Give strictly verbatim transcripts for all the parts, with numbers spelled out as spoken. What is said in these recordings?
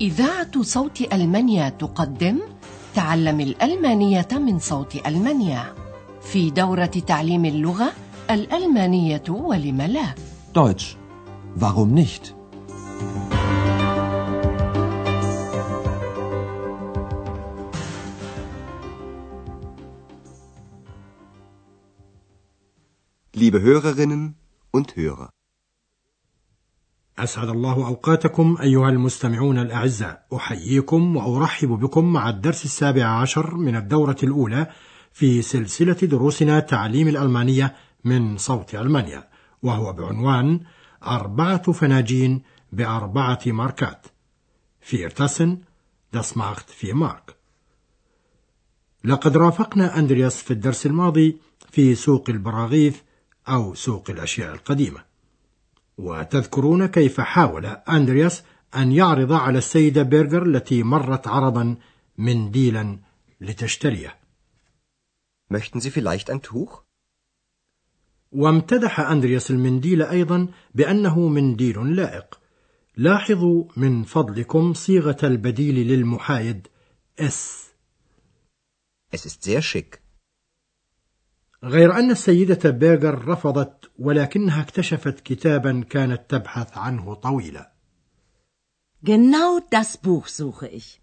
إذاعة صوت ألمانيا تقدم تعلم الألمانية من صوت ألمانيا في دورة تعليم اللغة الألمانية ولم لا. Deutsch. Warum nicht? Liebe Hörerinnen und Hörer. أسعد الله أوقاتكم أيها المستمعون الأعزاء، أحييكم وأرحب بكم مع الدرس السابع عشر من الدورة الأولى في سلسلة دروسنا تعليم الألمانية من صوت ألمانيا، وهو بعنوان أربعة فناجين بأربعة ماركات. vier Tassen, das macht vier Mark. لقد رافقنا أندرياس في الدرس الماضي في سوق البراغيث أو سوق الأشياء القديمة، وتذكرون كيف حاول أندرياس أن يعرض على السيدة بيرغر التي مرت عرضا منديلا لتشتريه. Möchten Sie vielleicht ein Tuch? وامتدح أندرياس المنديل أيضا بأنه منديل لائق. لاحظوا من فضلكم صيغة البديل للمحايد اس. Es ist sehr schick. غير أن السيدة بيرغر رفضت، ولكنها اكتشفت كتابا كانت تبحث عنه طويلا. Genau das Buch suche ich.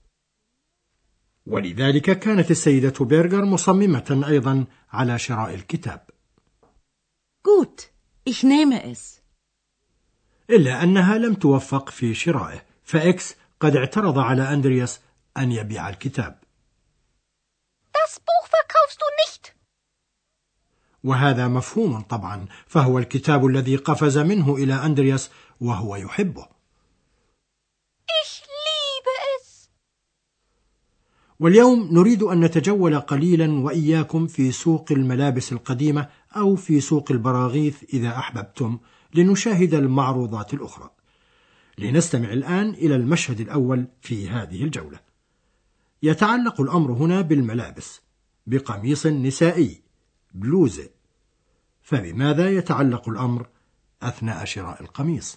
ولذلك كانت السيدة بيرغر مصممة أيضا على شراء الكتاب. Gut, ich nehme es. إلا أنها لم توفق في شرائه، فإكس قد اعترض على أندرياس أن يبيع الكتاب. Das Buch verkaufst du nicht. وهذا مفهوم طبعا، فهو الكتاب الذي قفز منه إلى أندرياس وهو يحبه. Ich liebe es. واليوم نريد أن نتجول قليلا وإياكم في سوق الملابس القديمة أو في سوق البراغيث إذا أحببتم، لنشاهد المعروضات الأخرى. لنستمع الآن إلى المشهد الأول في هذه الجولة. يتعلق الأمر هنا بالملابس، بقميص نسائي، بلوزة. فبماذا يتعلق الأمر أثناء شراء القميص؟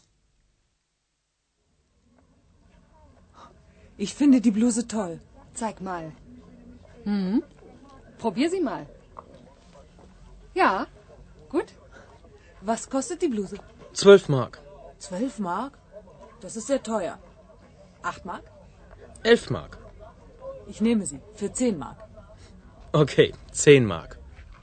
Ich finde die Bluse toll. Zeig mal. Hm? Probier sie mal. Ja, gut. Was kostet die Bluse? Zwölf Mark. Zwölf Mark? Das ist sehr teuer. Acht Mark? Elf Mark. Ich nehme sie für zehn Mark. Okay, zehn Mark.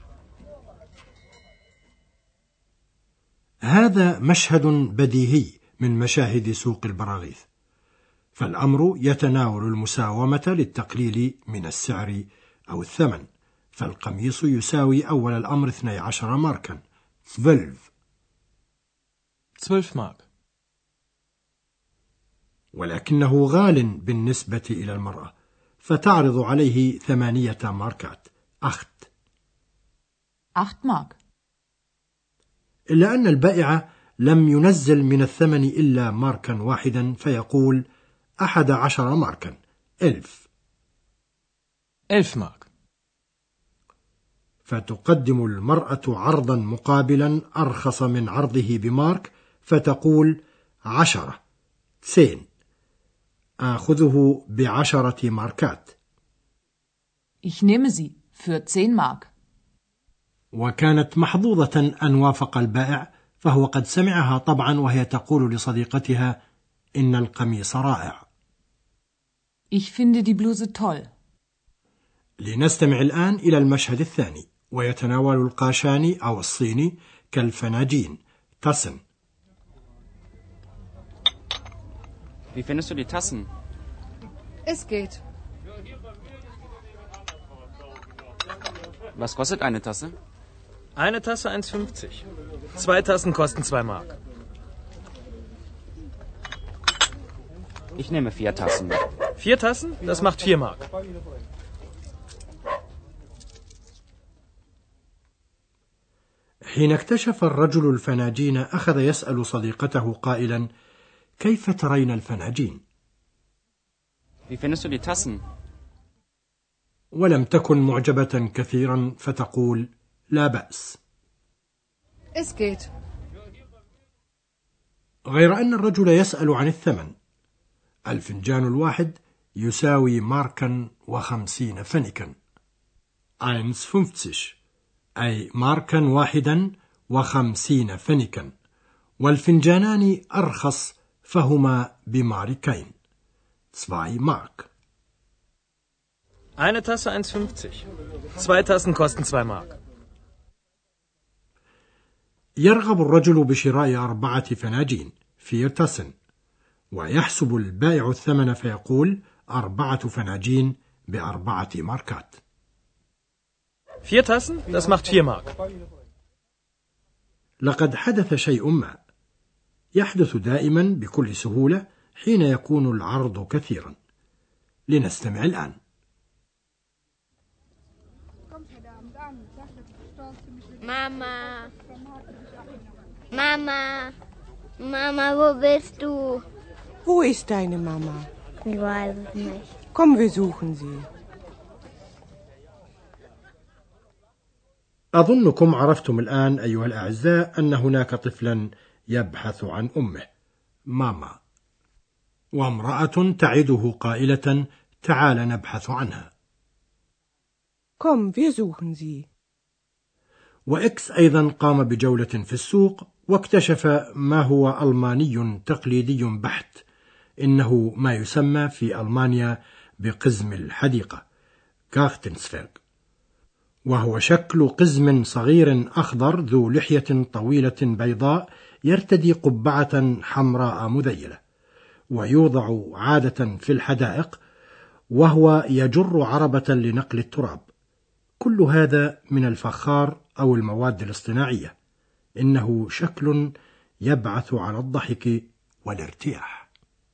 هذا مشهد بديهي من مشاهد سوق البراغيث، فالأمر يتناول المساومة للتقليل من السعر أو الثمن، فالقميص يساوي أول الأمر اثني عشر ماركا، zwölf. zwölf Mark. ولكنه غال بالنسبة إلى المرأة، فتعرض عليه ثمانية ماركات، acht. acht Mark. إلا أن البائع لم ينزل من الثمن إلا ماركا واحدا، فيقول أحد عشر ماركا، ألف. elf Mark. فتقدم المرأة عرضا مقابلا أرخص من عرضه بمارك، فتقول عشرة، سين. آخذه بعشرة ماركات. Ich nehme sie für zehn Mark. وكانت محظوظة أن وافق البائع، فهو قد سمعها طبعا وهي تقول لصديقتها إن القميص رائع. Ich finde die Bluse toll. لنستمع الآن إلى المشهد الثاني، ويتناول القاشاني أو الصيني كالفناجين، Tassen. Wie findest du die Tassen? Es geht. Was kostet eine Tasse? Eine Tasse eins fünfzig. Zwei Tassen kosten zwei Mark. Ich nehme vier Tassen. Vier Tassen? Das macht vier Mark. حين اكتشف الرجل الفناجين أخذ يسأل صديقته قائلا: كيف ترين الفناجين؟ Wie findest du die Tassen? ولم تكن معجبة كثيرا، فتقول: لا بأس. Es geht. غير أن الرجل يسأل عن الثمن، الفنجان الواحد يساوي ماركا وخمسين فنكا. eins fünfzig أي ماركا واحدا وخمسين فنكا، والفنجانان أرخص فهما بماركين. zwei Mark. Eine Tasse eins fünfzig. Zwei Tassen kosten zwei Mark. يرغب الرجل بشراء أربعة فناجين vier Tassen، ويحسب البائع الثمن فيقول أربعة فناجين بأربعة ماركات. Vier Tassen? Das macht vier Mark. لقد حدث شيء ما يحدث دائما بكل سهولة حين يكون العرض كثيرا. لنستمع الآن. Mama. Mama. Mama, wo bist du? Wo ist deine Mama? Ich weiß es nicht. Komm, wir suchen sie. أظنكم عرفتم الآن أيها الأعزاء أن هناك طفلا يبحث عن أمه ماما، وامرأة تعده قائلة تعال نبحث عنها. Komm, wir suchen sie. وإكس أيضا قام بجولة في السوق واكتشف ما هو ألماني تقليدي بحت، إنه ما يسمى في ألمانيا بقزم الحديقة كارتنسفيرغ، وهو شكل قزم صغير أخضر ذو لحية طويلة بيضاء يرتدي قبعة حمراء مذيلة، ويوضع عادة في الحدائق وهو يجر عربة لنقل التراب. كل هذا من الفخار أو المواد الاصطناعية. إنه شكل يبعث على الضحك والارتياح.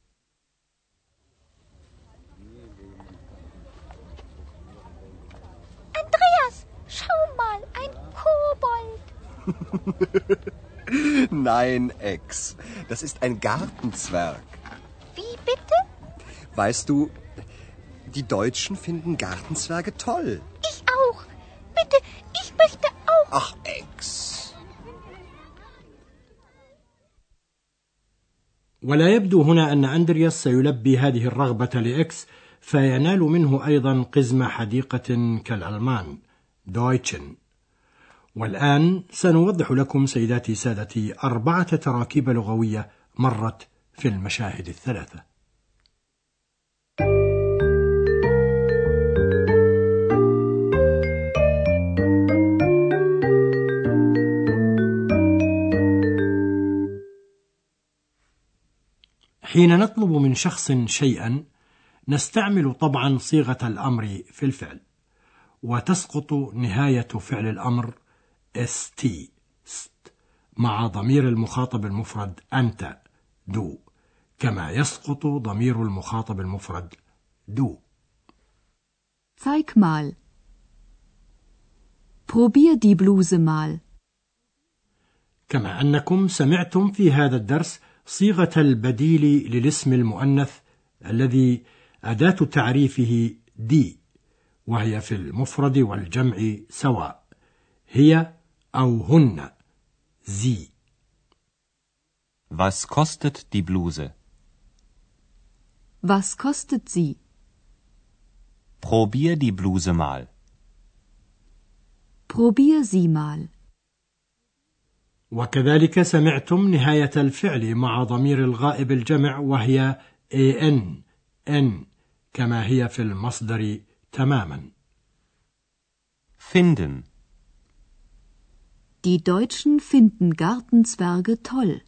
Andreas, schau mal, ein Kobold. Nein, Ex, das ist ein Gartenzwerg. Wie bitte? Weißt du, die Deutschen finden Gartenzwerge toll. Ich auch. Bitte, ich möchte auch. Ach, Ex. ولا يبدو هنا أن أندرياس سيلبي هذه الرغبة لإكس فينال منه أيضا قزم حديقة كالألمان دويتشن. والآن سنوضح لكم سيداتي سادتي أربعة تراكيب لغوية مرت في المشاهد الثلاثة. حين نطلب من شخص شيئا نستعمل طبعا صيغة الأمر في الفعل، وتسقط نهاية فعل الأمر st ست مع ضمير المخاطب المفرد أنت دو، كما يسقط ضمير المخاطب المفرد دو. Zeig mal. Probier die Bluse mal. كما أنكم سمعتم في هذا الدرس صيغة البديل للاسم المؤنث الذي أداة تعريفه دي، وهي في المفرد والجمع سواء، هي أو هن زي. Was kostet die Bluse? Was kostet sie? Probier die Bluse mal. Probier sie mal. وكذلك سمعتم نهاية الفعل مع ضمير الغائب الجمع وهي ان ان كما هي في المصدر تماما. Finden. Die Deutschen finden Gartenzwerge toll.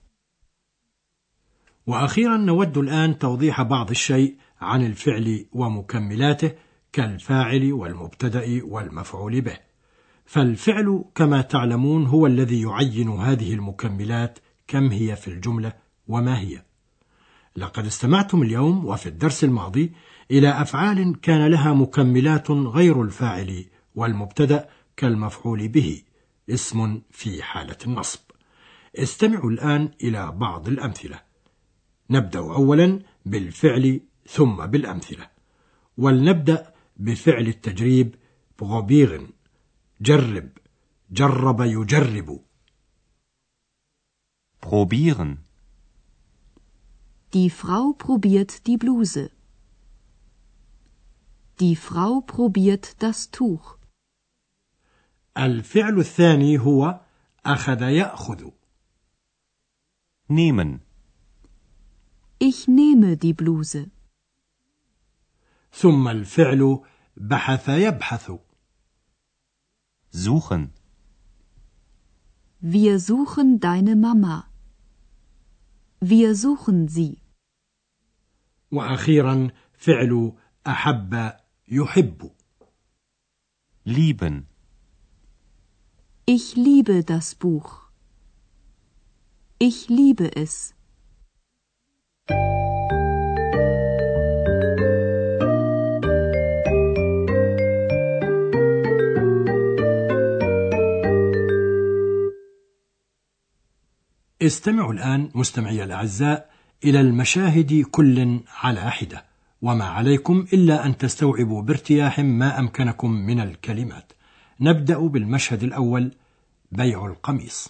وأخيرا نود الآن توضيح بعض الشيء عن الفعل ومكملاته كالفاعل والمبتدأ والمفعول به. فالفعل كما تعلمون هو الذي يعين هذه المكملات كم هي في الجملة وما هي. لقد استمعتم اليوم وفي الدرس الماضي إلى أفعال كان لها مكملات غير الفاعل والمبتدأ كالمفعول به، اسم في حالة النصب. استمعوا الآن إلى بعض الأمثلة. نبدأ أولا بالفعل ثم بالأمثلة، ولنبدأ بفعل التجريب probieren. جرب، جرب يجرب. Probieren. Die Frau probiert die Bluse. Die Frau probiert das Tuch. الفعل الثاني هو أخذ يأخذ. Nehmen. Ich nehme die Bluse. ثم الفعل بحث يبحث. Suchen. Wir suchen deine Mama. Wir suchen sie. وأخيرا فعل أحب يحب. Lieben. Ich liebe das Buch. Ich liebe es. استمعوا الآن مستمعي الأعزاء إلى المشاهد كل على حدة، وما عليكم إلا أن تستوعبوا بارتياح ما أمكنكم من الكلمات. نبدأ بالمشهد الأول: بيع القميص.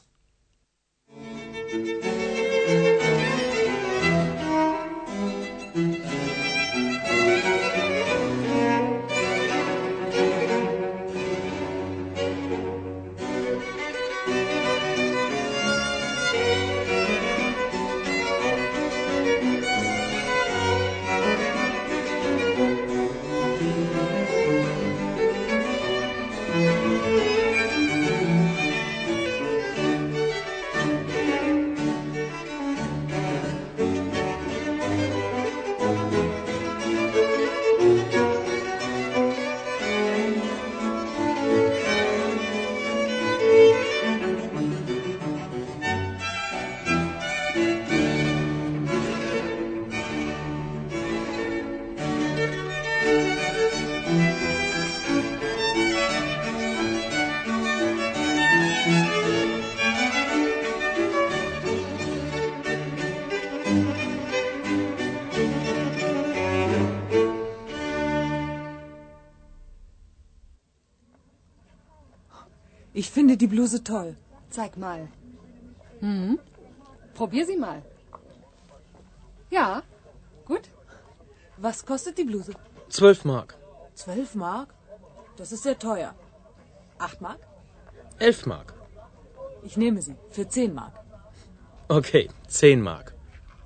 Ich finde die Bluse toll. Zeig mal. Hm? Probier sie mal. Ja, gut. Was kostet die Bluse? Zwölf Mark. Zwölf Mark? Das ist sehr teuer. Acht Mark? Elf Mark. Ich nehme sie für zehn Mark. Okay, zehn Mark.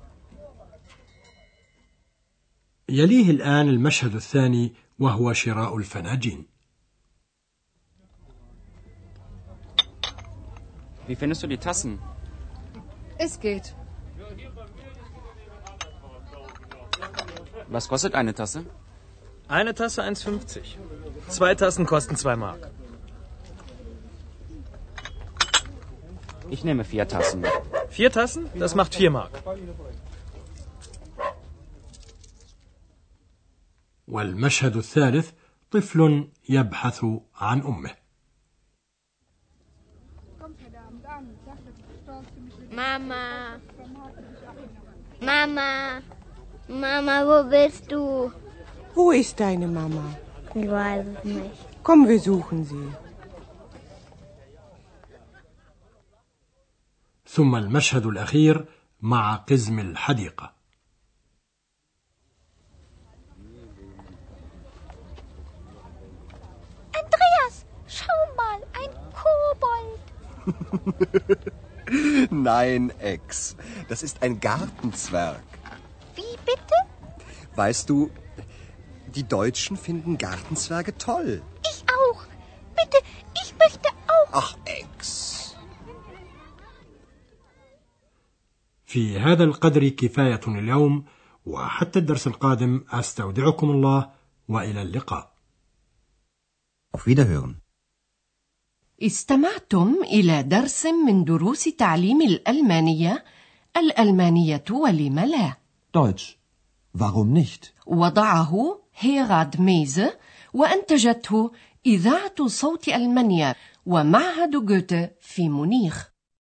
يليه الآن المشهد الثاني وهو شراء الفناجين. Wie findest du die Tassen? Es geht. Was kostet eine Tasse? Eine Tasse eins fünfzig. Zwei Tassen kosten zwei Mark. Ich nehme vier Tassen. Vier Tassen? Das macht vier Mark. والمشهد الثالث: طفل يبحث عن أمه. Mama. Mama. Mama, wo bist du? Wo ist deine Mama? Ich weiß es nicht. Komm, wir suchen sie. ثم المشهد الأخير مع قزم الحديقة. Andreas, schau mal, ein Kobold. Nein, Ex. Das ist ein Gartenzwerg. Wie bitte? Weißt du, die Deutschen finden Gartenzwerge toll. Ich auch. Bitte, ich möchte auch. Ach, Ex. في هذا القدر كفاية اليوم، وحتى الدرس القادم أستودعكم الله وإلى اللقاء. Auf Wiederhören. استمعتم إلى درس من دروس تعليم الألمانية الألمانية ولم لا. Deutsch. Warum nicht? وضعه هيراد ميزه وأنتجته إذاعة صوت ألمانيا ومعهد جوته في مونيخ.